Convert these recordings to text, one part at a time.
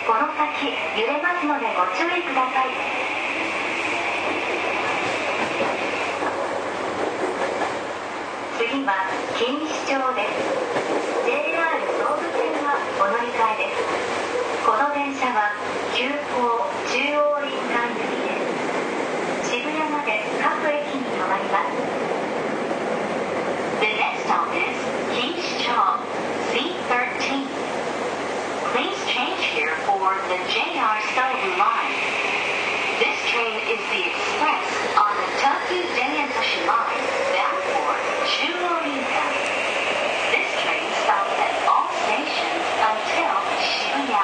この先揺れますのでご注意ください。次は錦糸町です。 JR 総武線はお乗り換えです。この電車は急行中央林間行きです。渋谷まで各駅に停まります。 The next stop is 錦糸町 C13. Please change here for the JR Sobu line. This train is the express on the Tokyu Denyakushi line bound for Chuo-Rinkan. This train stops at all stations until Shibuya.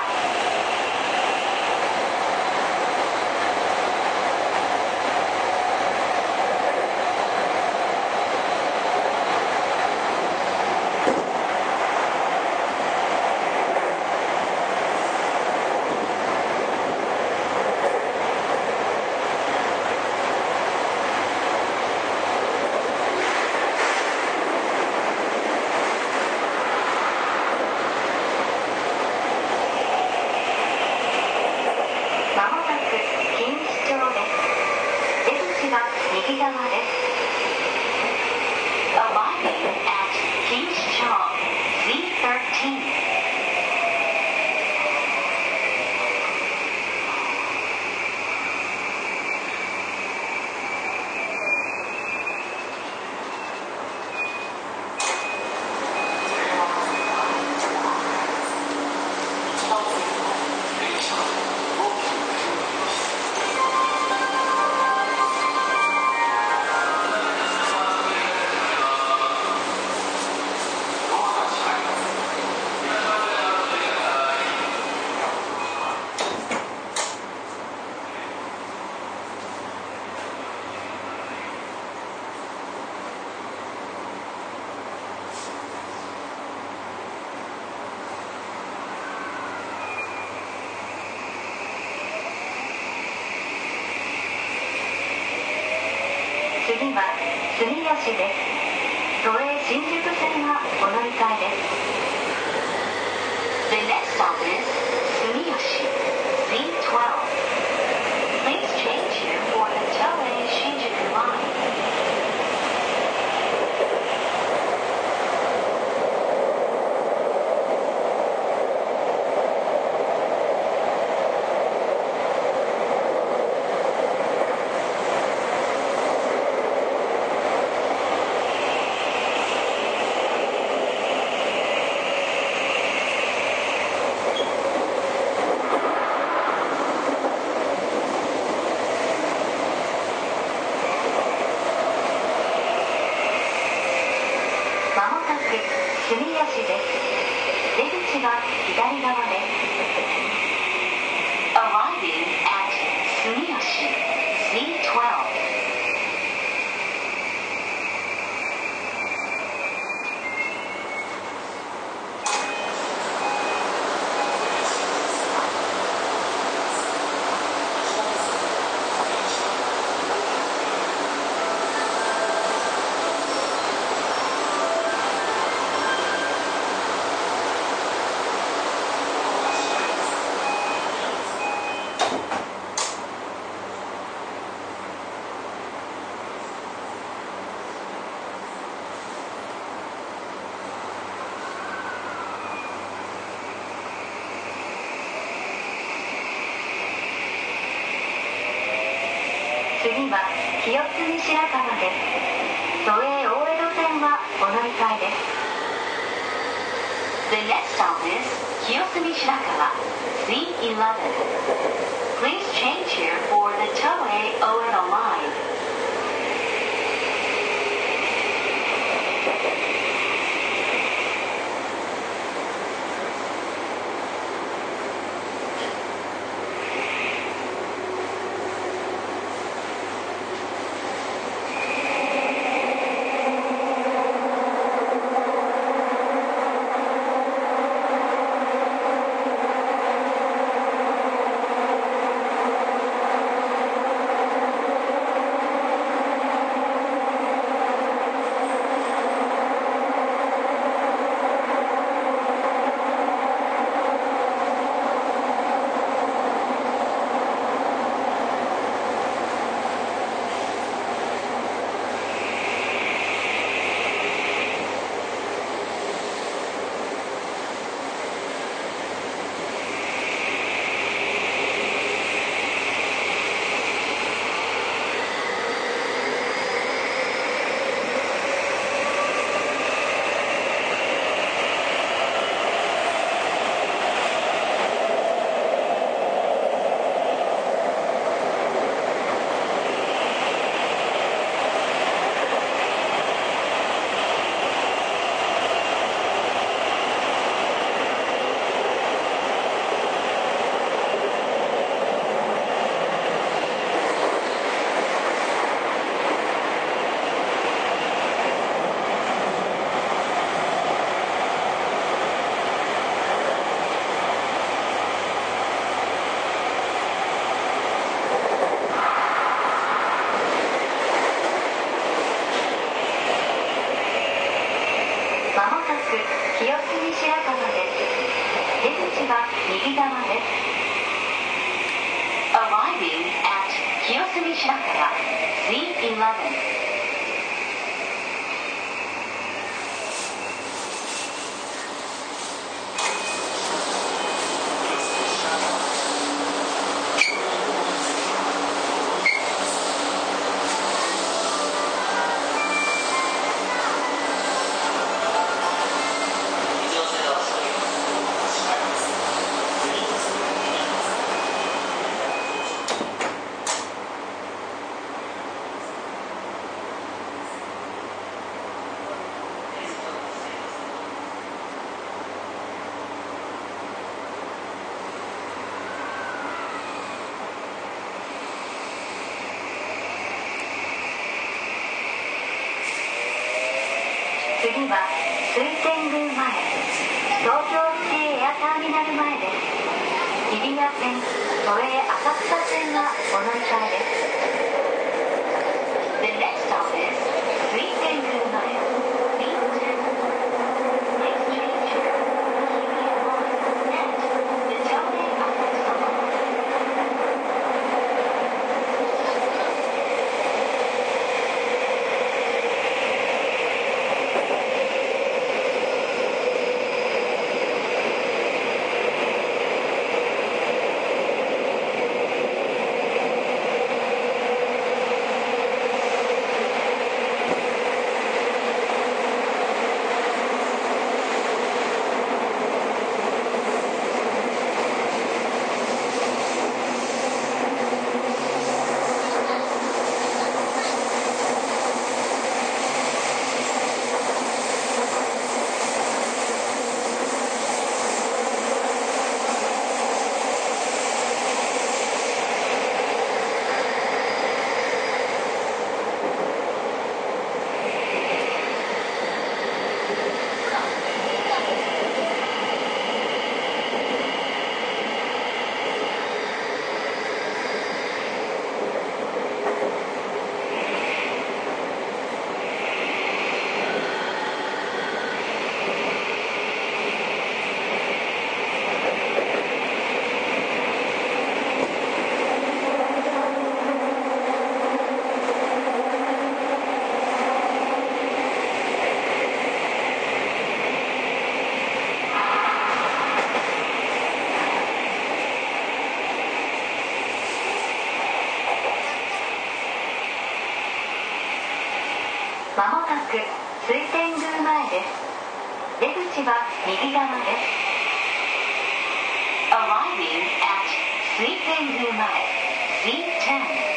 右側です。 Arriving at 錦糸町 C13. 次は住吉です。都営新宿線はお乗り換えです。 The next stop is 住吉 C12. Please change here for the Toei Shinjuku line. 住吉です。出口は左側です。 Arriving at 住吉 C12. 次は清澄白河です。都営大江戸線はお乗り換えです。 The next stop is 清澄白河 C11. Please change here for the Toei Oedo line. 次は右側です。 Arriving at 清澄白河 C11. 次は水天宮前、東京シティエアターミナル前です。日比谷線、都営浅草線はお乗り換えです。 The next stop is 水天宮前 B10. Please change here for the Hibiya Line and the Toei Asakusa Line. まもなく水天宮前です。出口は右側です。 Arriving at 水天宮前 C10.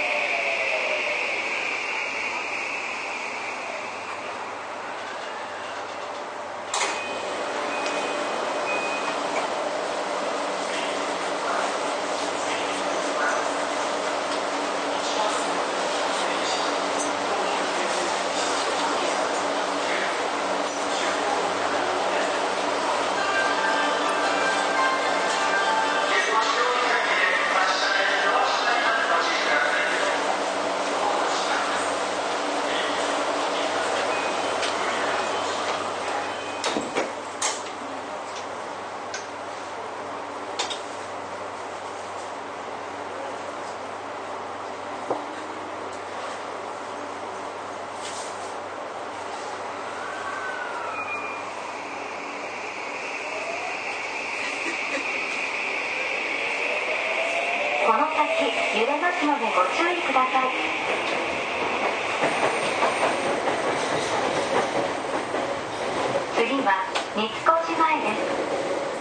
この先揺れますのでご注意ください。次は三越前です。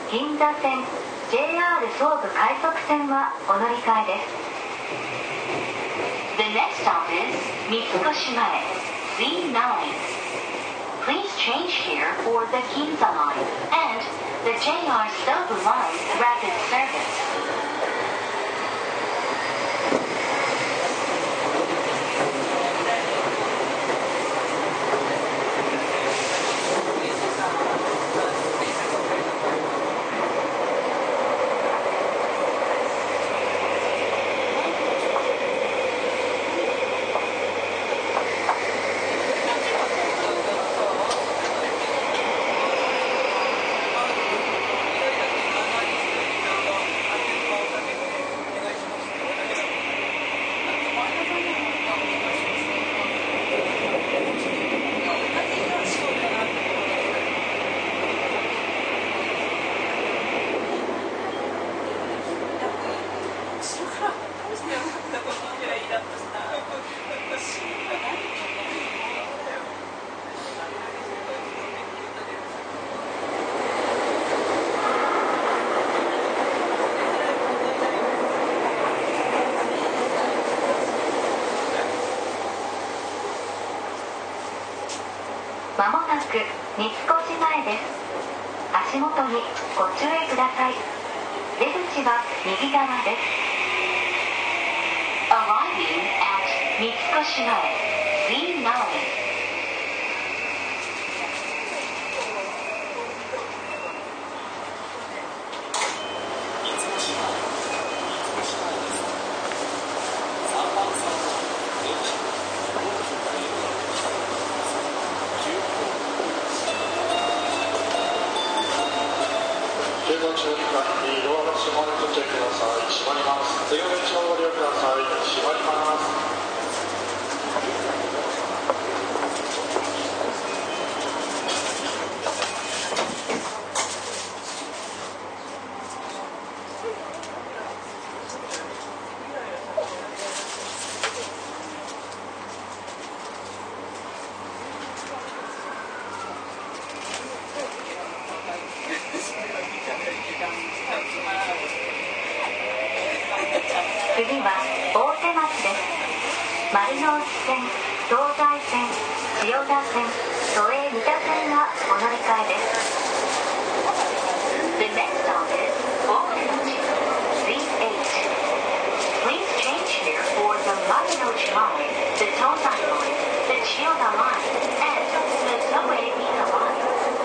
銀座線 JR 総武快速線はお乗り換えです。 The next stop is 三越前 C9. Please change here for the Ginza Line and the JR Sobu Line Rapid Service. 次三越前です。足元にご注意ください。出口は右側です。 Arriving at 三越前 Z9. 次は大手町です。丸の内線、東西線、千代田線、都営三田線がお乗り換えです。 The next stop is Orange Z8. Please change here for the Marunouchi line, the Tozai line, the Chiyoda line, and the Toei Mita line.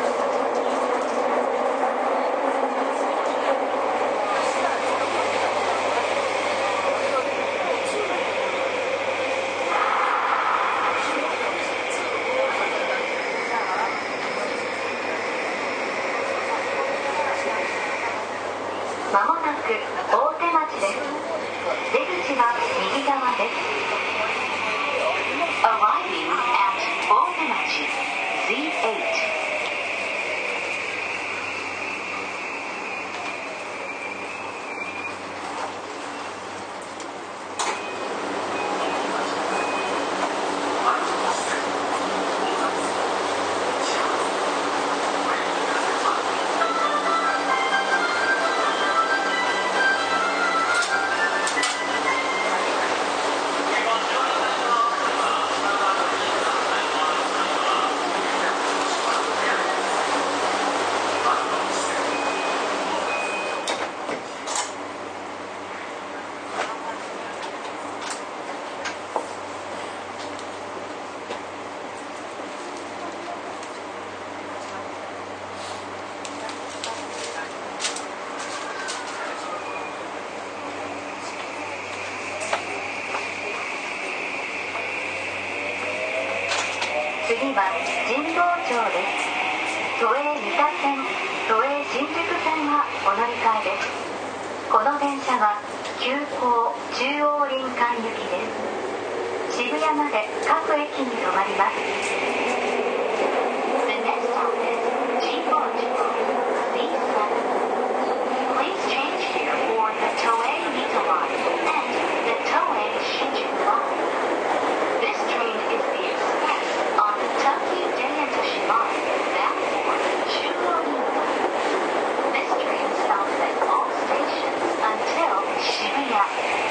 まもなく大手町です。出口は右側です。 Arriving at Otemachi Z8. 次は神保町です。都営三田線、都営新宿線がお乗り換えです。この電車は急行中央林間行きです。渋谷まで各駅に停まります。 The next stop is Jinboucho Z7. Please change here for the Toei Mita line and the Toei Shinjuku line. This train is the express on the Tokyo Daihatsu line bound for Shugorinka. This train stops at all stations until Shibuya.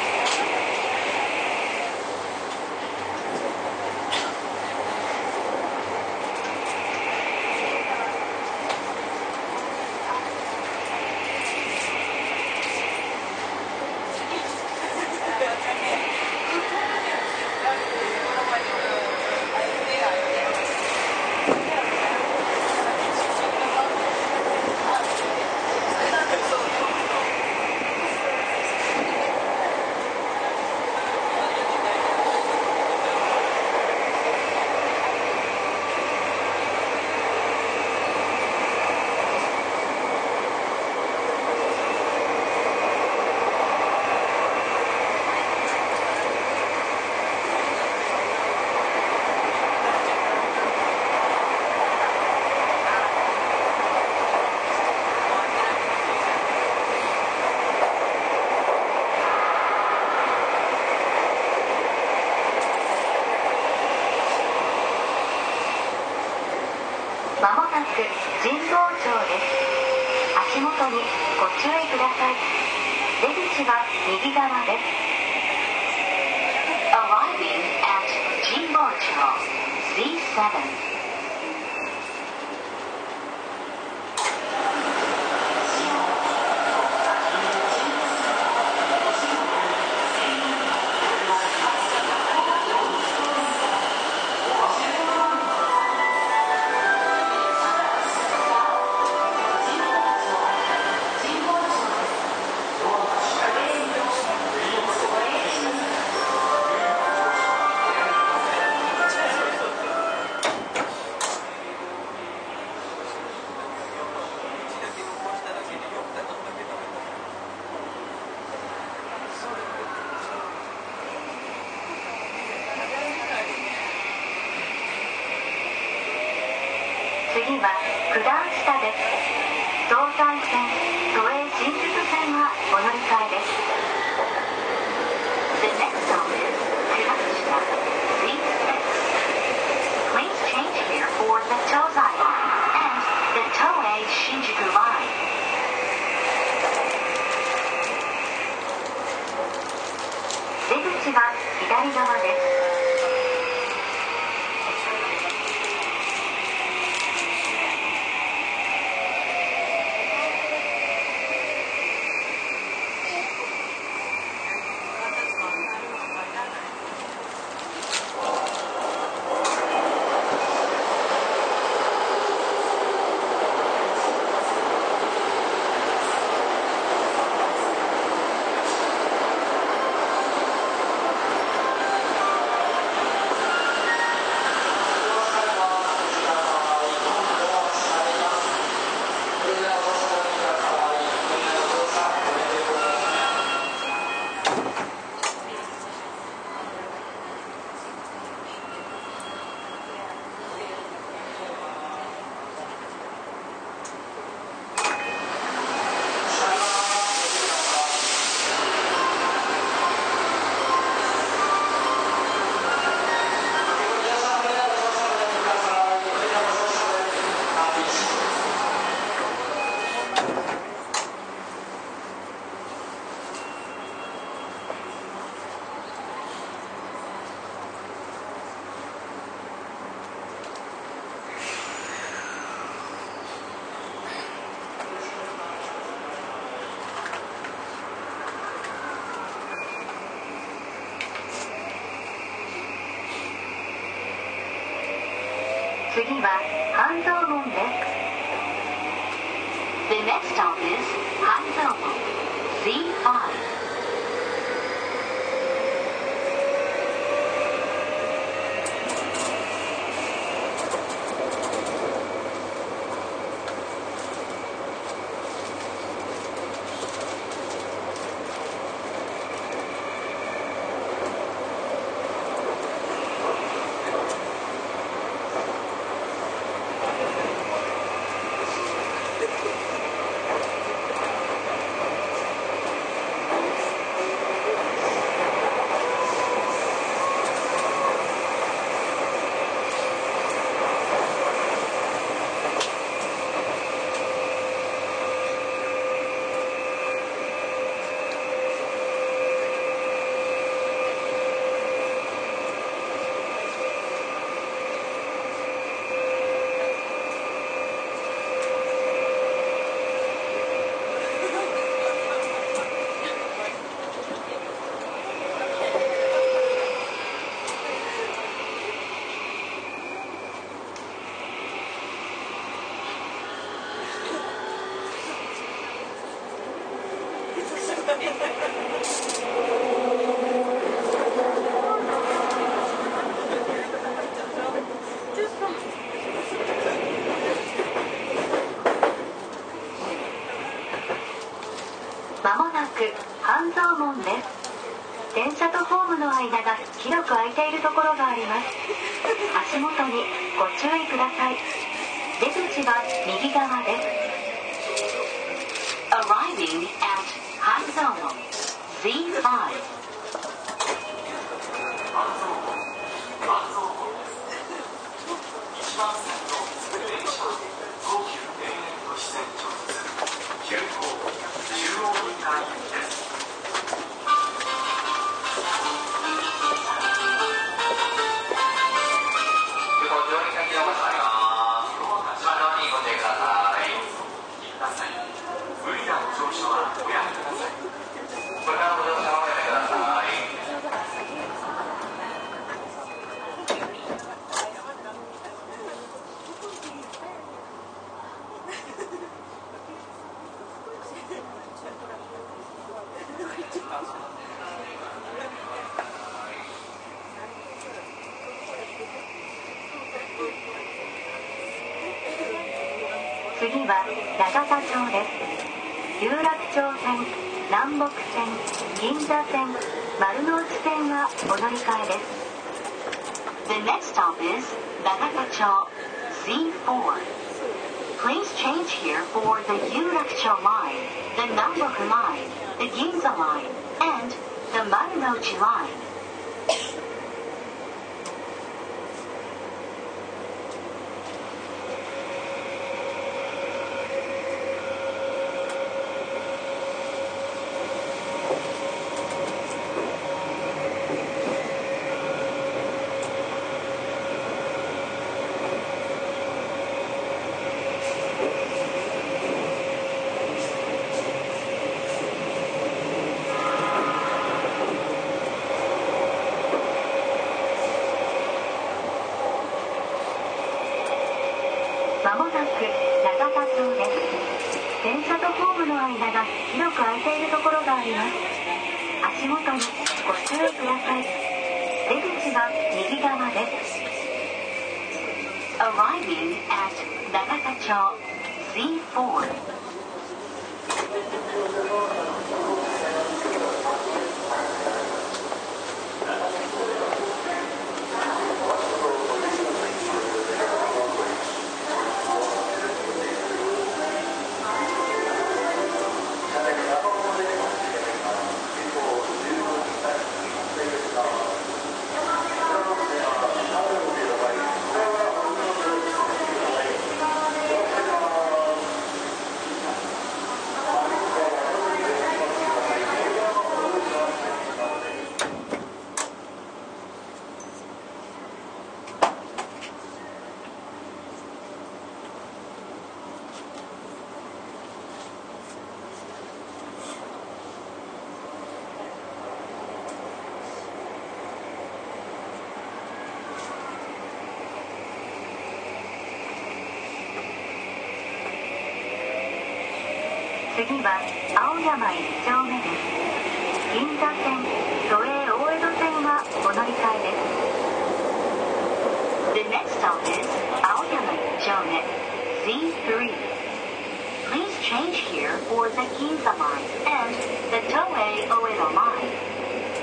まもなく神保町です。足元にご注意ください。出口は右側です。 Arriving at Jinboucho Z7. は九段下です。東西線、都営新宿線はお乗り換えです。 The next stop is Kudashita, Z6. Please change here for the Tozai line and the Toei Shinjuku line. 出口は左側です。次は半蔵門です。 The next stop is Hanzomon, Z5. まもなく半蔵門です。電車とホームの間が広く空いているところがあります。足元にご注意ください。出口は右側です。 Arriving at Hanzomon, Z5. 次は永田町です。有楽町線、南北線、銀座線、丸の内線はお乗り換えです。 The next stop is Nagatacho, Z4. Please change here for the Yurakucho line, the Namboku line, the Ginza line, and the Marunouchi line. まもなく永田町です。電車とホームの間が広く空いているところがあります。足元にご注意ください。出口は右側です。 Arriving at Nagatacho Z4. 次は青山1丁目です。銀座線、都営大江戸線はお乗り換えです。 The next stop is Aoyama Chome Z3. Please change here for the Ginza line and the Toei Oedo line.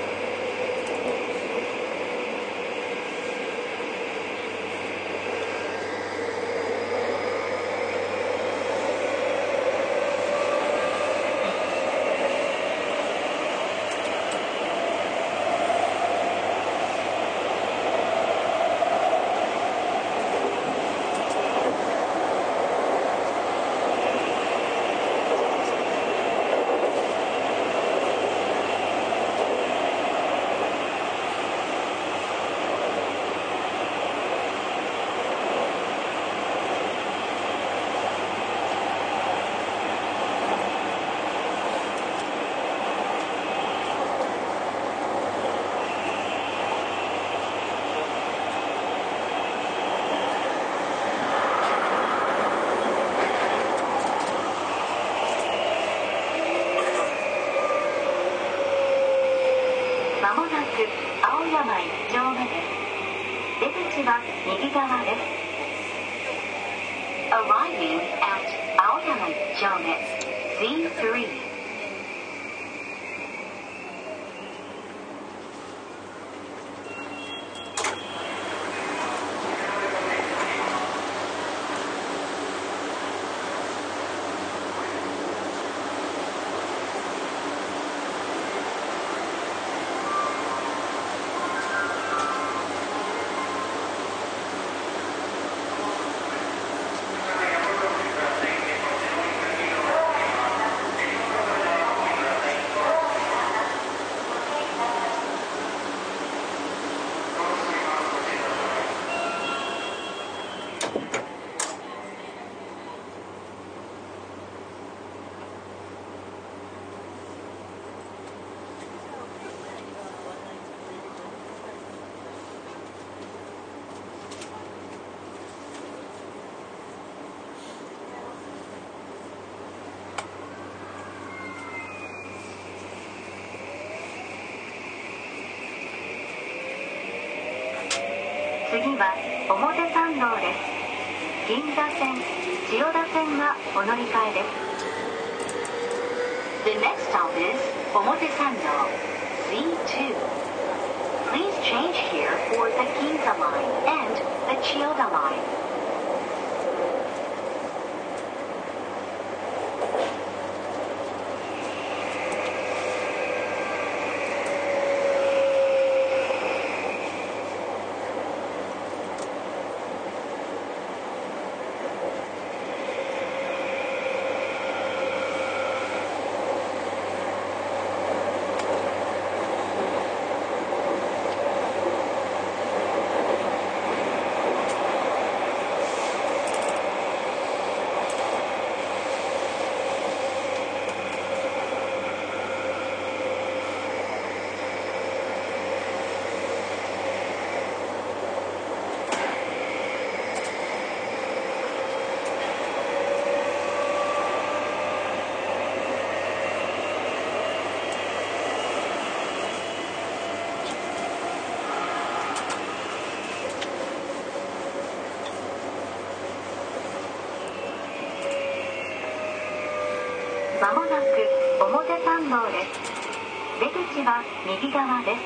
まもなく青山1丁目です。出口は右側です。 Arriving at Aoyama Chome Z3. 次は表参道です。銀座線、千代田線がお乗り換えです。 The next stop is Omotesando Z2. Please change here for the Ginza line and the Chiyoda line. なく表参道です。出口は右側です。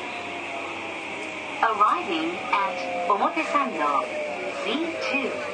Arriving at 表参道 C2.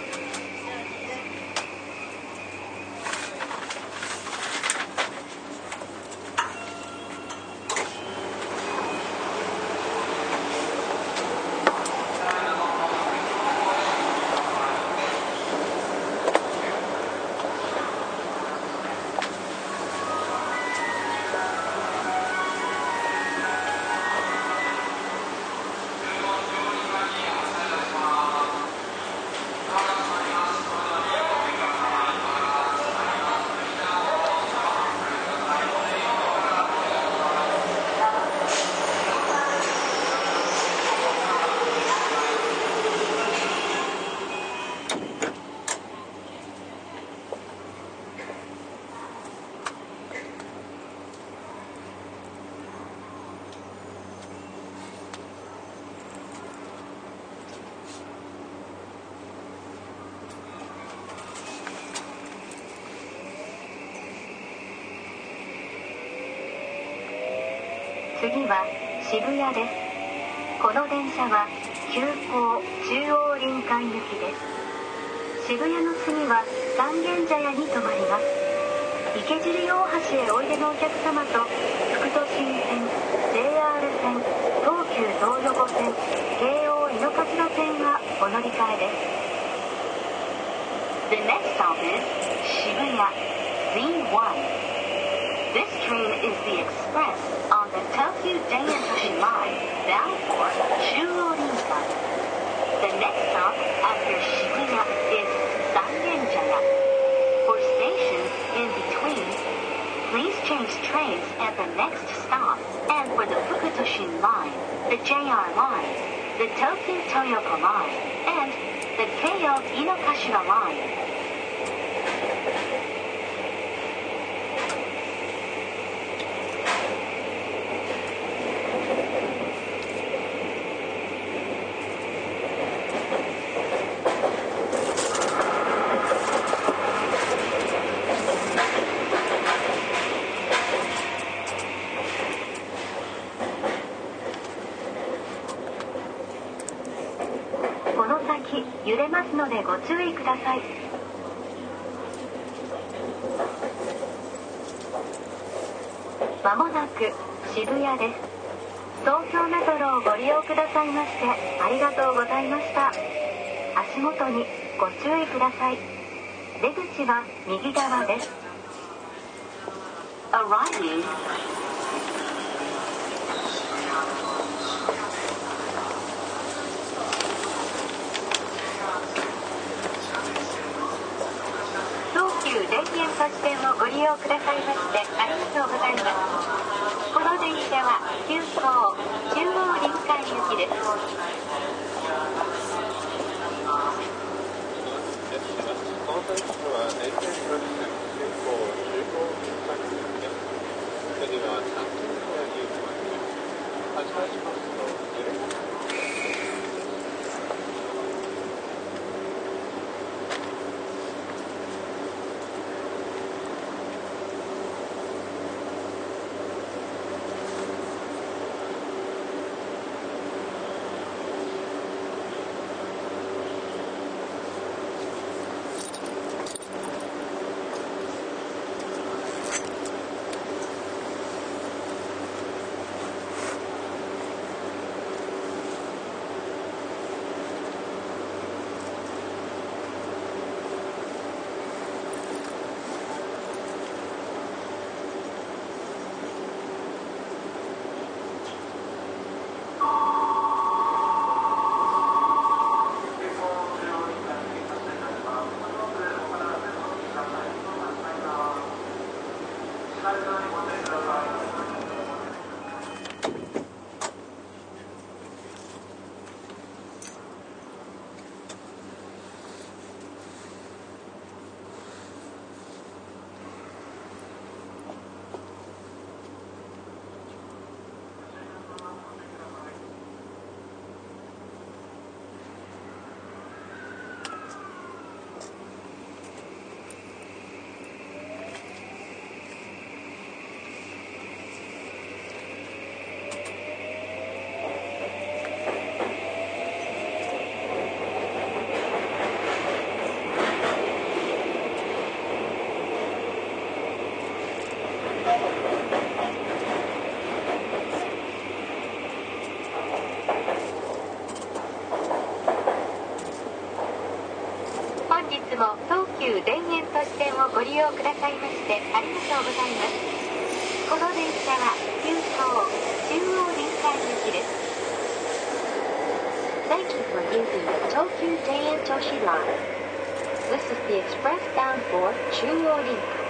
次は渋谷です。この電車は急行中央林間行きです。渋谷の次は三軒茶屋に停まります。池尻大橋へおいでのお客様と副都心線、JR 線、東急東横線、京王井の頭線はお乗り換えです。 The next stop is Shibuya Z1. This train is the express on the Tokyu Daintoshi line bound for Chuo-rinkan. The next stop after Shibuya is Sangenjaya. For stations in between, please change trains at the next stop, and for the Fukutoshin line, the JR line, the Tokyu Toyoko line, and the Keio Inokashira line. 揺れますのでご注意ください。まもなく渋谷です。東京メトロをご利用くださいましてありがとうございました。足元にご注意ください。出口は右側です。 Arriving 田園都市線をご利用くださいましてありがとうございます。この電車は急行中央林間行きです。 この電車は沿線各線急行中央林間行きです。次は三軒茶屋に行きます。発車しますと揺れます。 をご利用くださいましてありがとうございます。この電車は急行中央臨海行きです。Thank you for using the Tokyu Jeian Toshi Line. This is the express bound for Chuo Rinkai.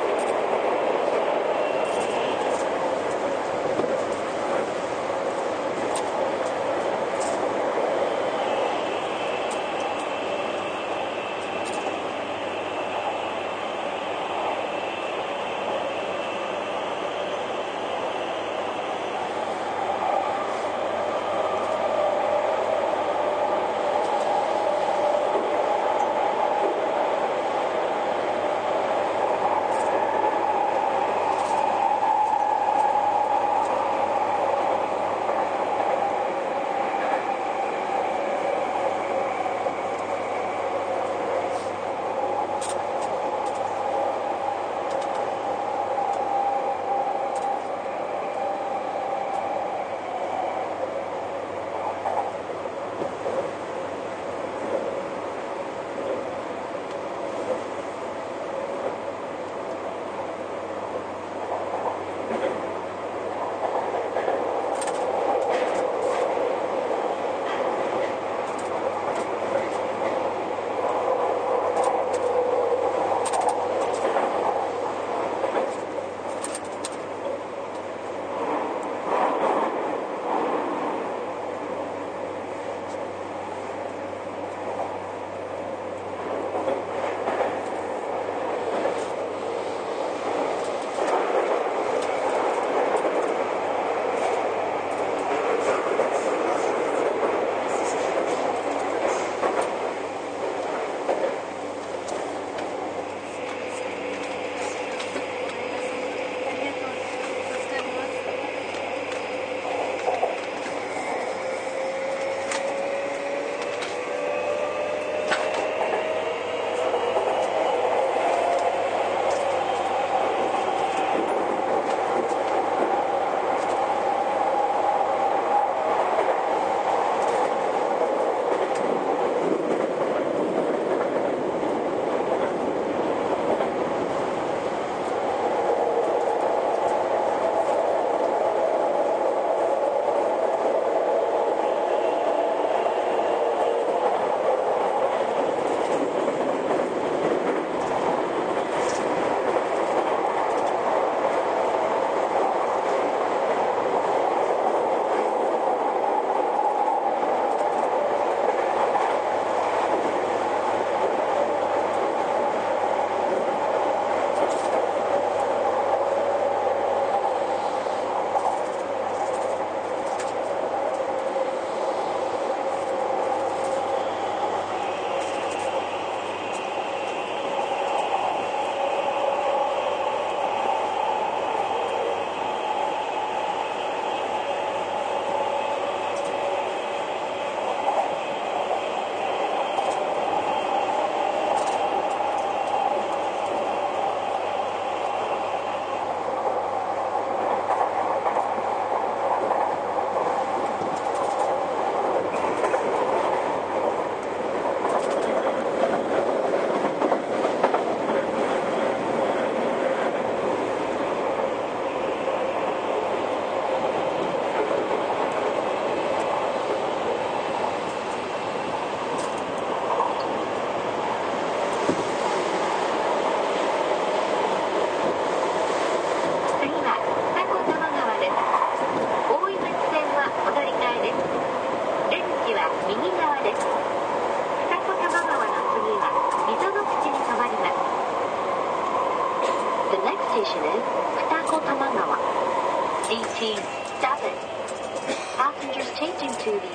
「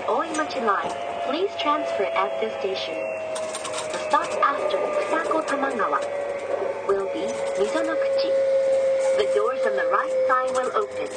Oimachi Line. Please transfer at this station. The stop after Fusako Tamagawa will be Mizonokuchi. The doors on the right side will open.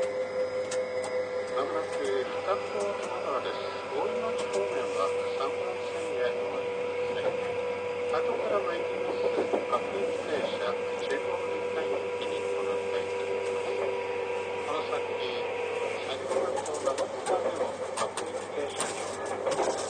まもなく北高玉川です。大井町方面は3番線へお乗りください。後から参ります各駅停車中央臨海駅にお乗り換えいただきます。この先先ほどと長津川でも各駅停車にお乗り換えいただきます。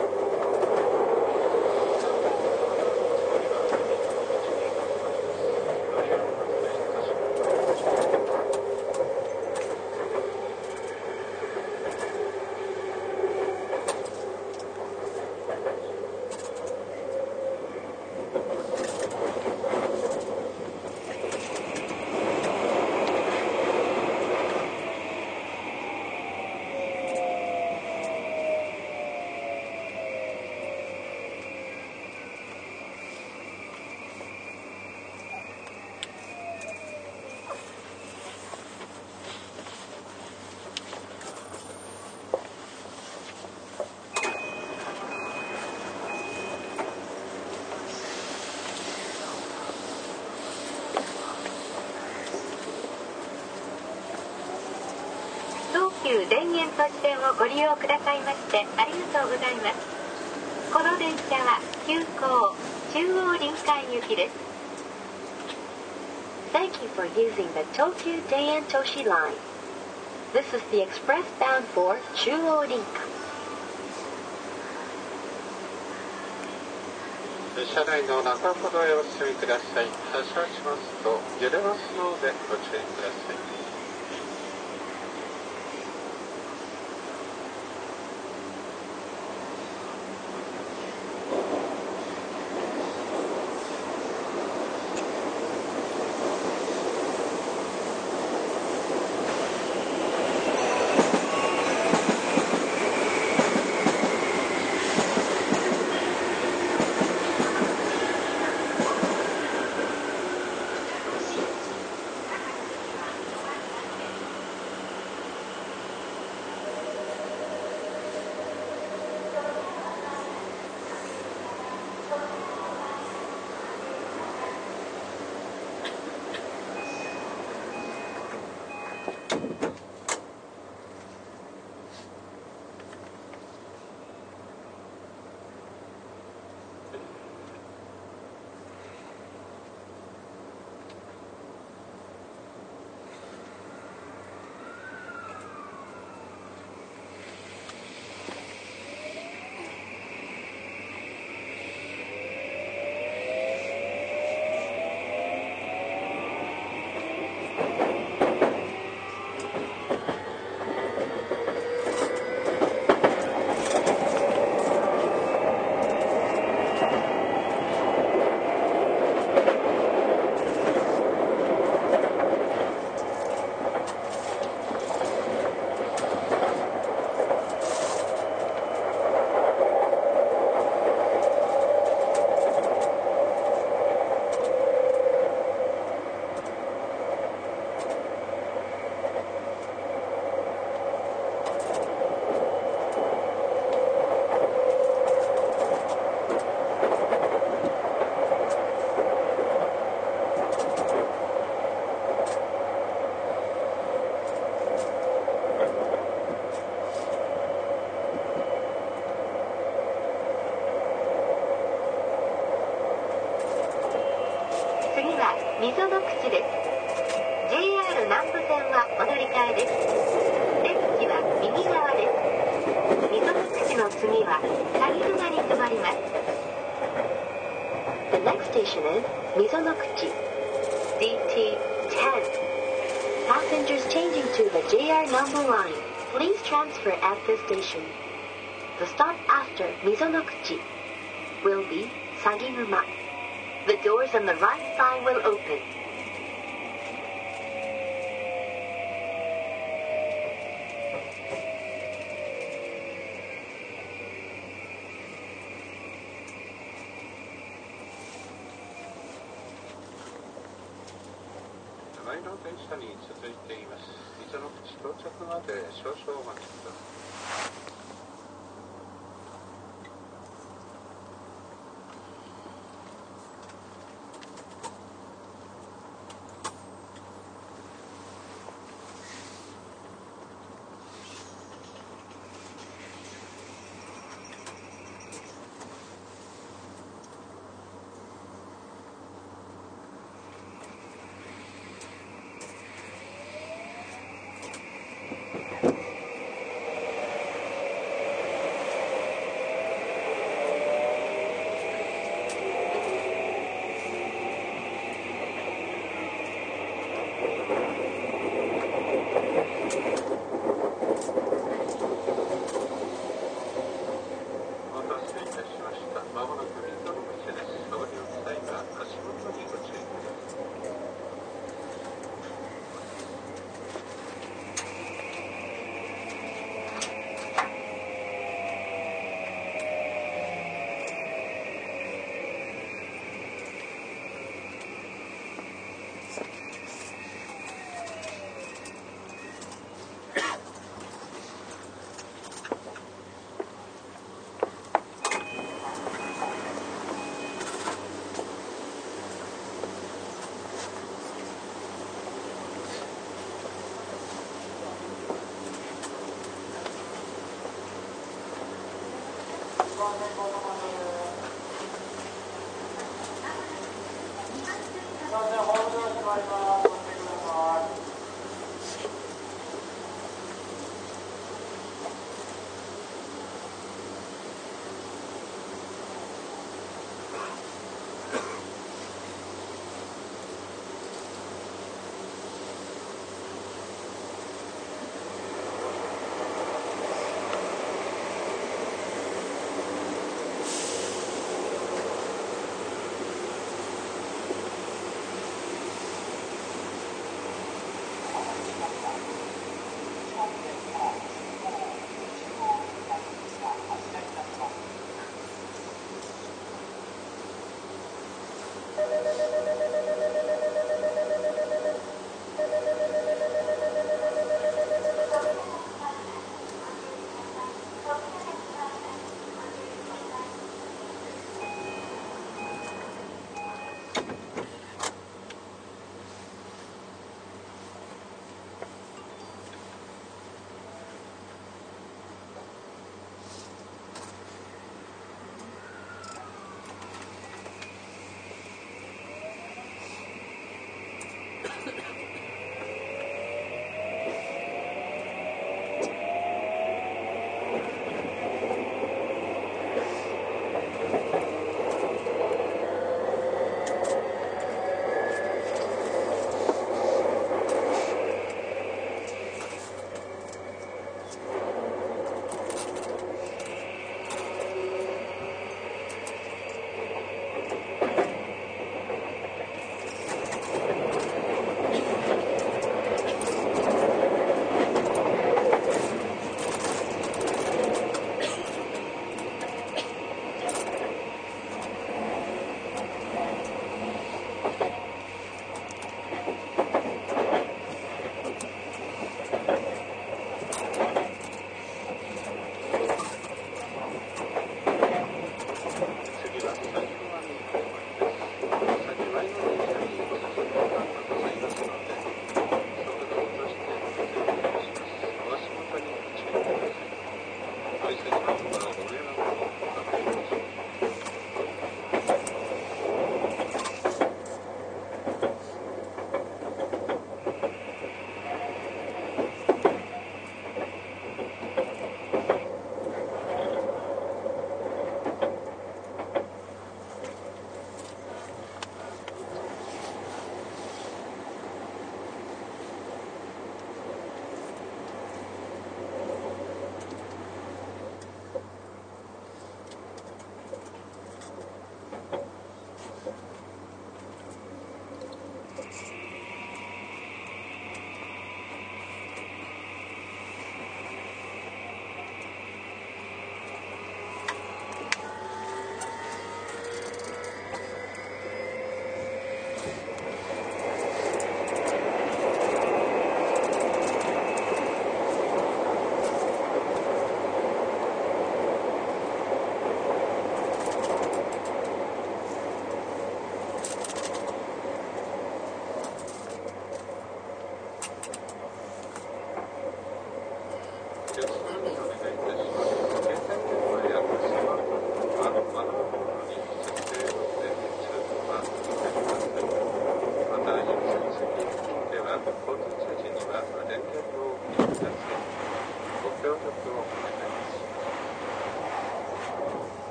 東急田園都市線をご利用くださいましてありがとうございます。この電車は急行中央臨海行きです。 Thank you for using the Tokyu Daien Toshi Line. This is the express bound for Chuo Rinkai. 車内の中ほどへお進みください。発車しますと揺れますのでご注意ください。 溝の口です。 JR 南武線はお乗り換えです。出口は右側です。溝の口の次は鷺沼に停まります。 The next station is Mizonokuchi. DT10. Passengers changing to the JR Nambu line, please transfer at this station. The stop after Mizonokuchi will be Saginuma. The doors on the right side will open. 前の電車に続いています。溝の口到着まで少々お待ちください。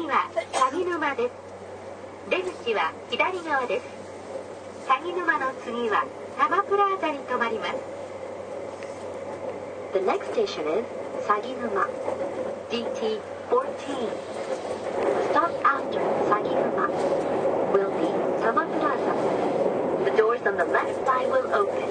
は鷺沼です。出口は左側です。鷺沼の次は多摩プラザに停まります。 The next station is Saginuma, DT14. Stop after Saginuma will be Tama Plaza. The doors on the left side will open.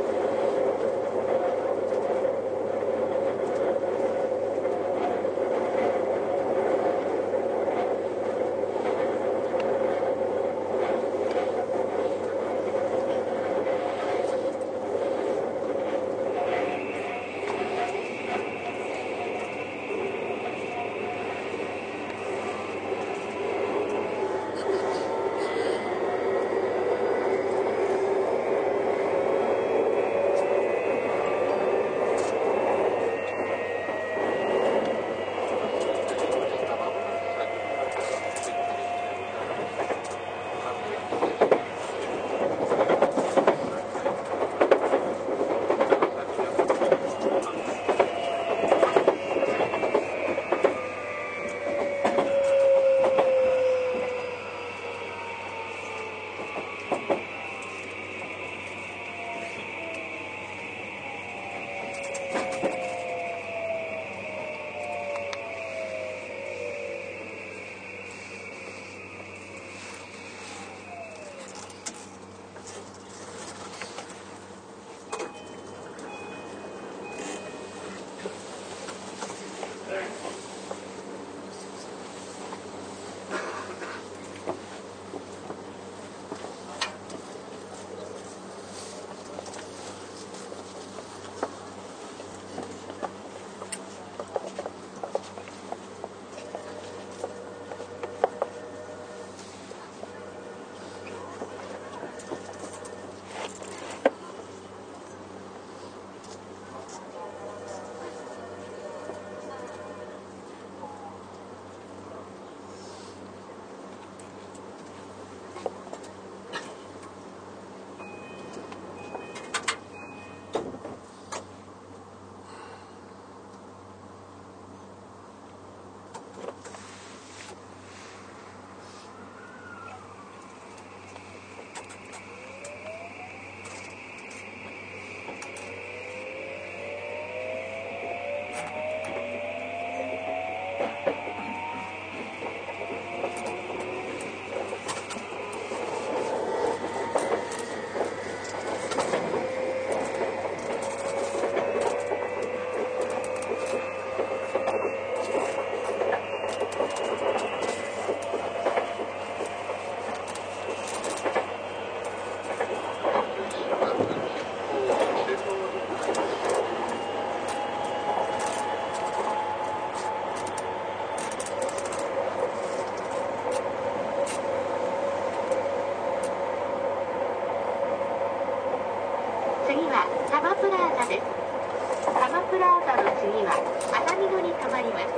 次は多摩プラザです。多摩プラザの次は熱海野に停まります。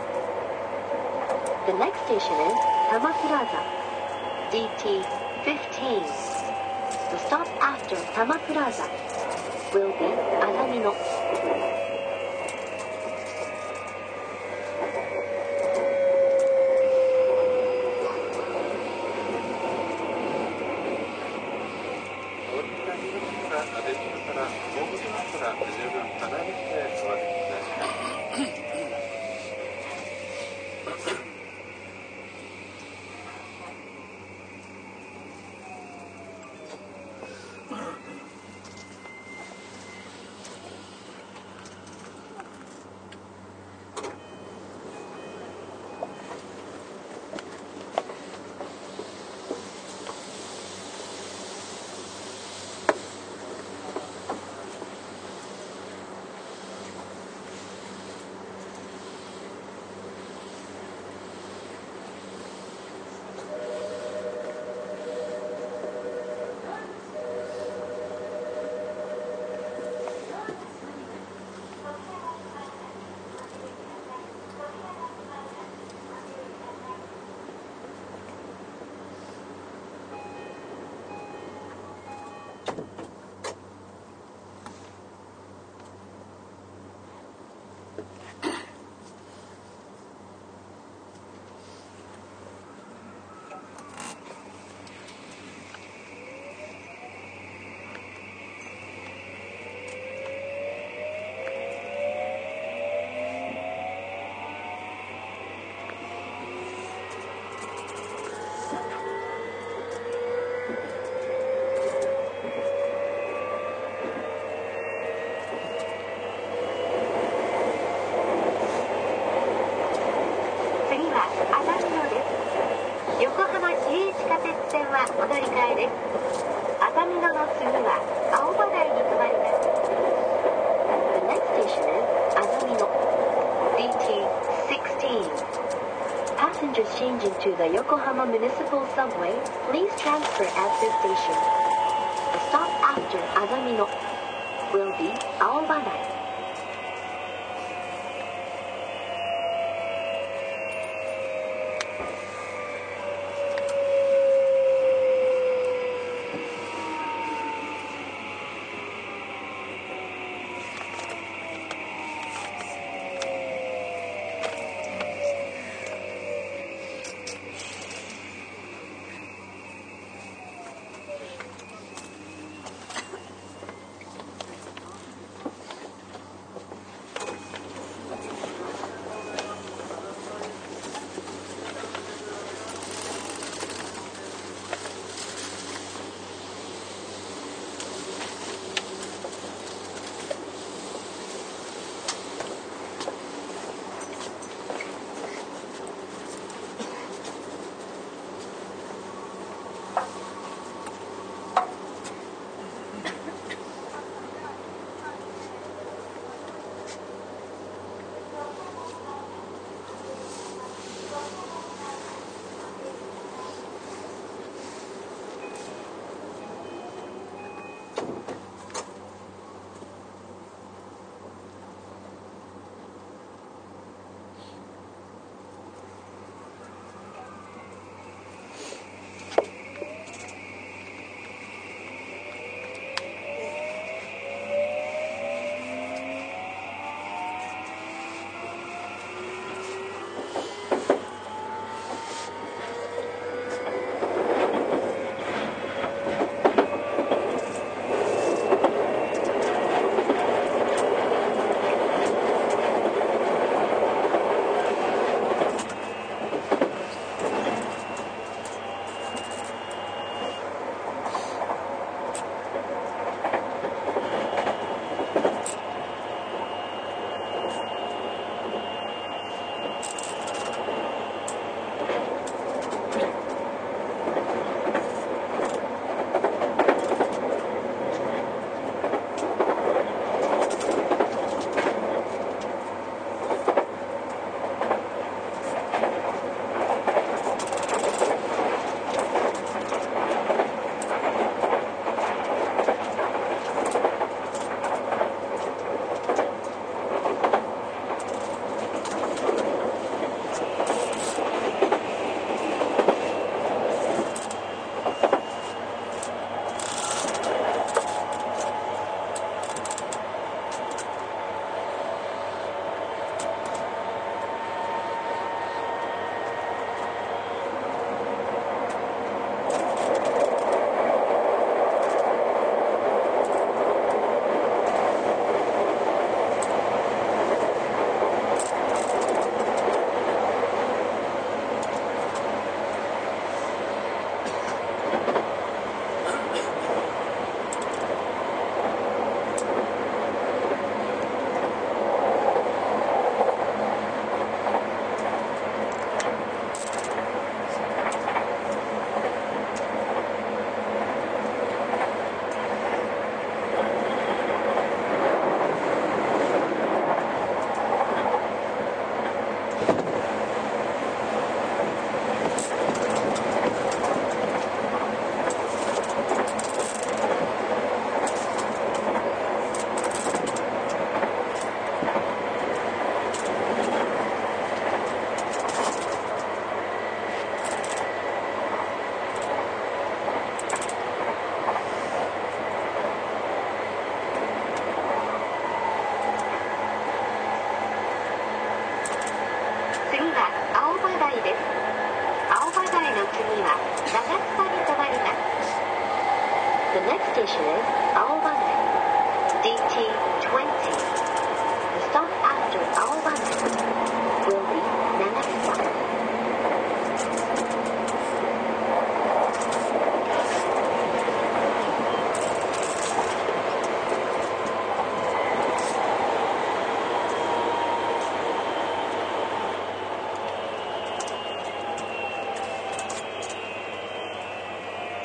The next station is Tama Plaza, DT15. The stop after Tama Plaza will be Azamino. 「 はお乗り換えです。熱海野の次は青葉台に停まります。The next station is Azamino. DT-16. Passengers changing to the Yokohama Municipal Subway, please transfer at this station. The stop after Azamino will be Aobadai. の次は長津田に停まります。The next station is Aobanai, DT-20. The stop after Aobanai will be Nagasuwa. 「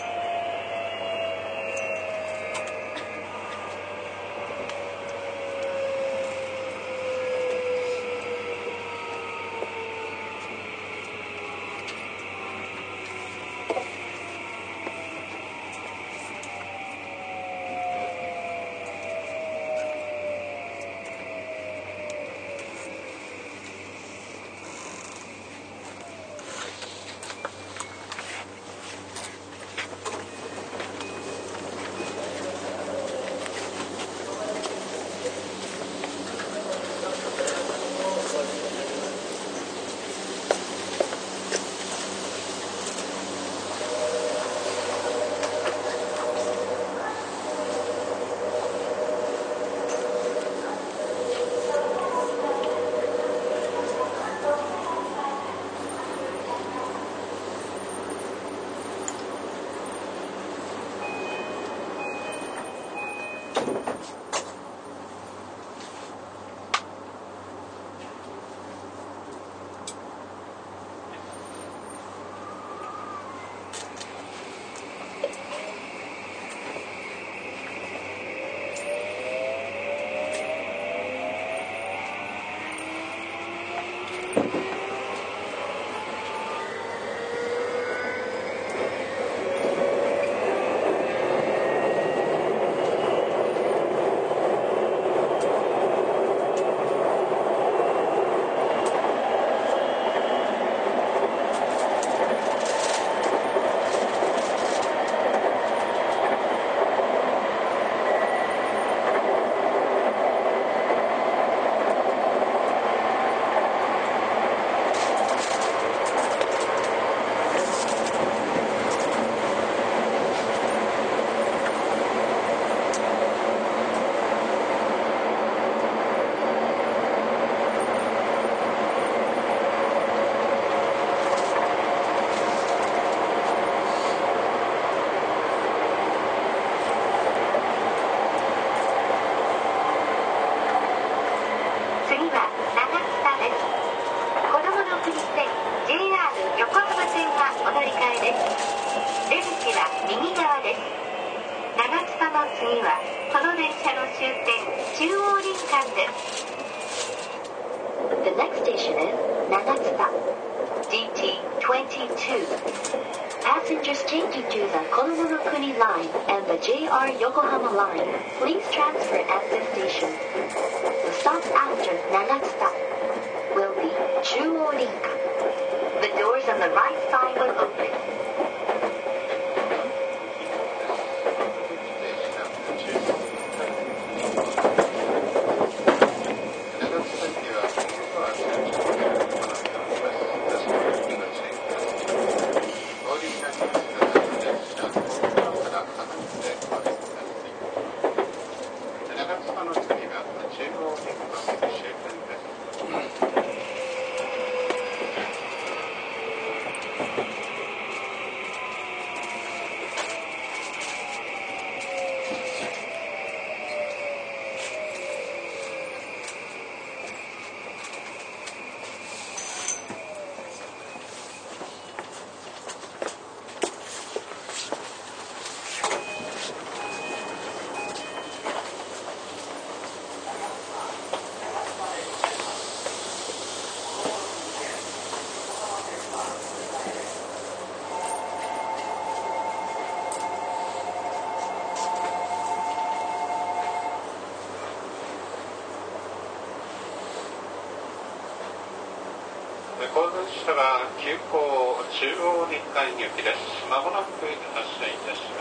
の次はこの電車の終点中央林間です。 The next station is Nagatsuta. GT22. Passengers changing to the Konomonokuni line and the JR Yokohama line, please transfer at this station. The stop after Nagatsuta will be Chuo Rinkan. The doors on the right side will open. 後続車は急行中央林間行きです。まもなく発車いたします。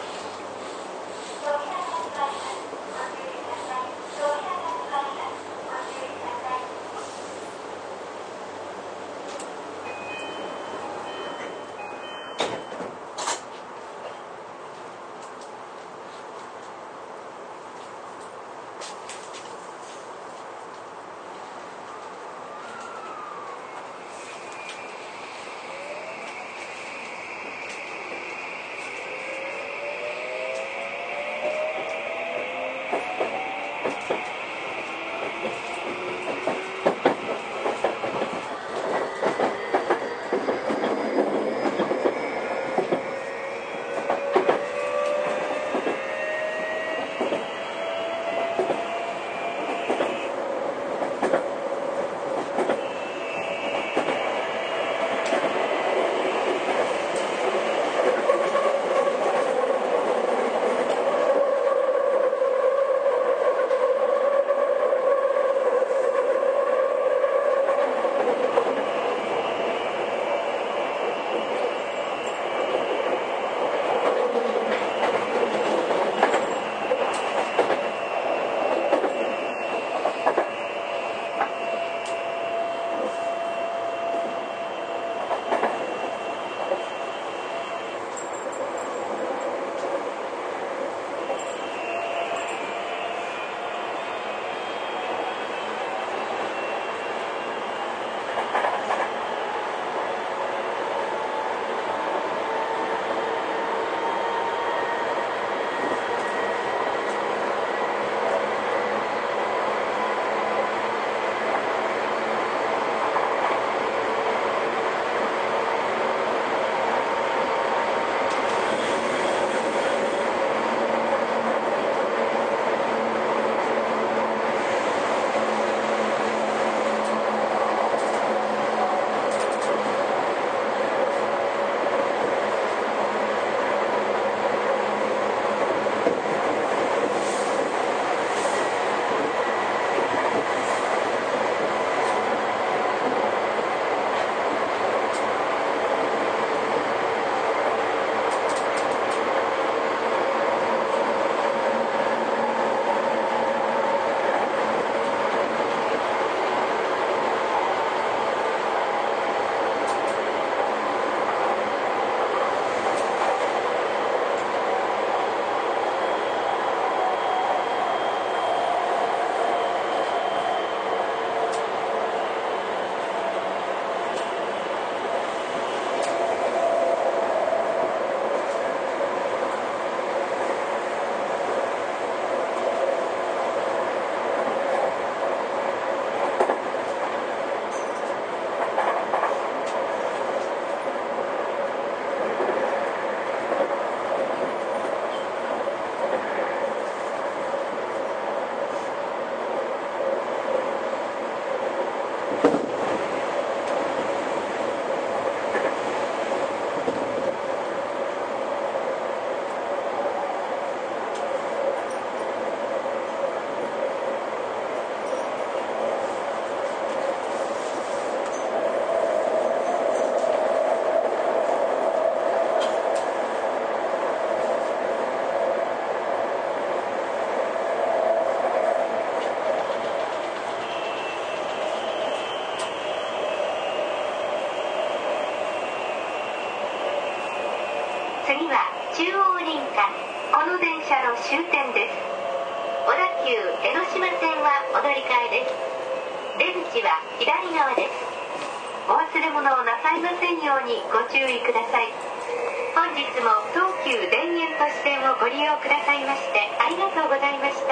次は中央林間、この電車の終点です。小田急江ノ島線はお乗り換えです。出口は左側です。お忘れ物をなさいませんようにご注意ください。本日も東急田園都市線をご利用くださいましてありがとうございました。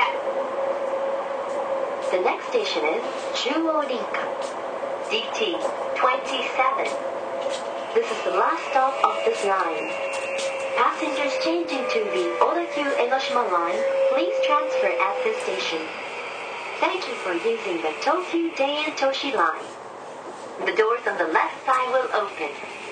The next station is 中央林間 DT27. This is the last stop of this line. Passengers changing to the Odakyu Enoshima line, please transfer at this station. Thank you for using the Tokyu Daien Toshi line. The doors on the left side will open.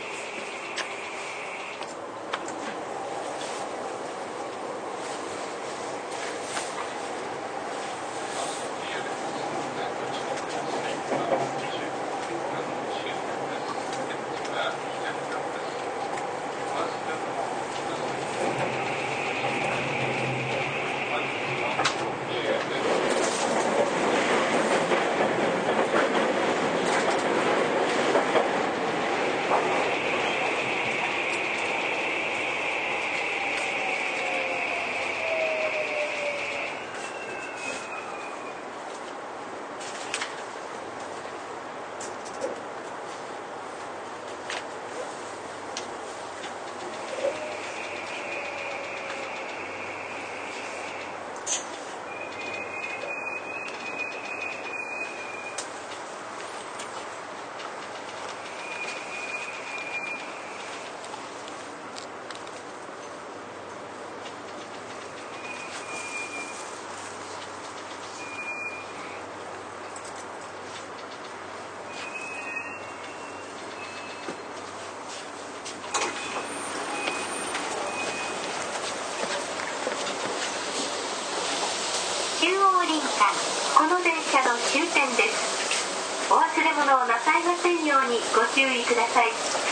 この電車の終点です。お忘れ物をなさいませんようにご注意ください。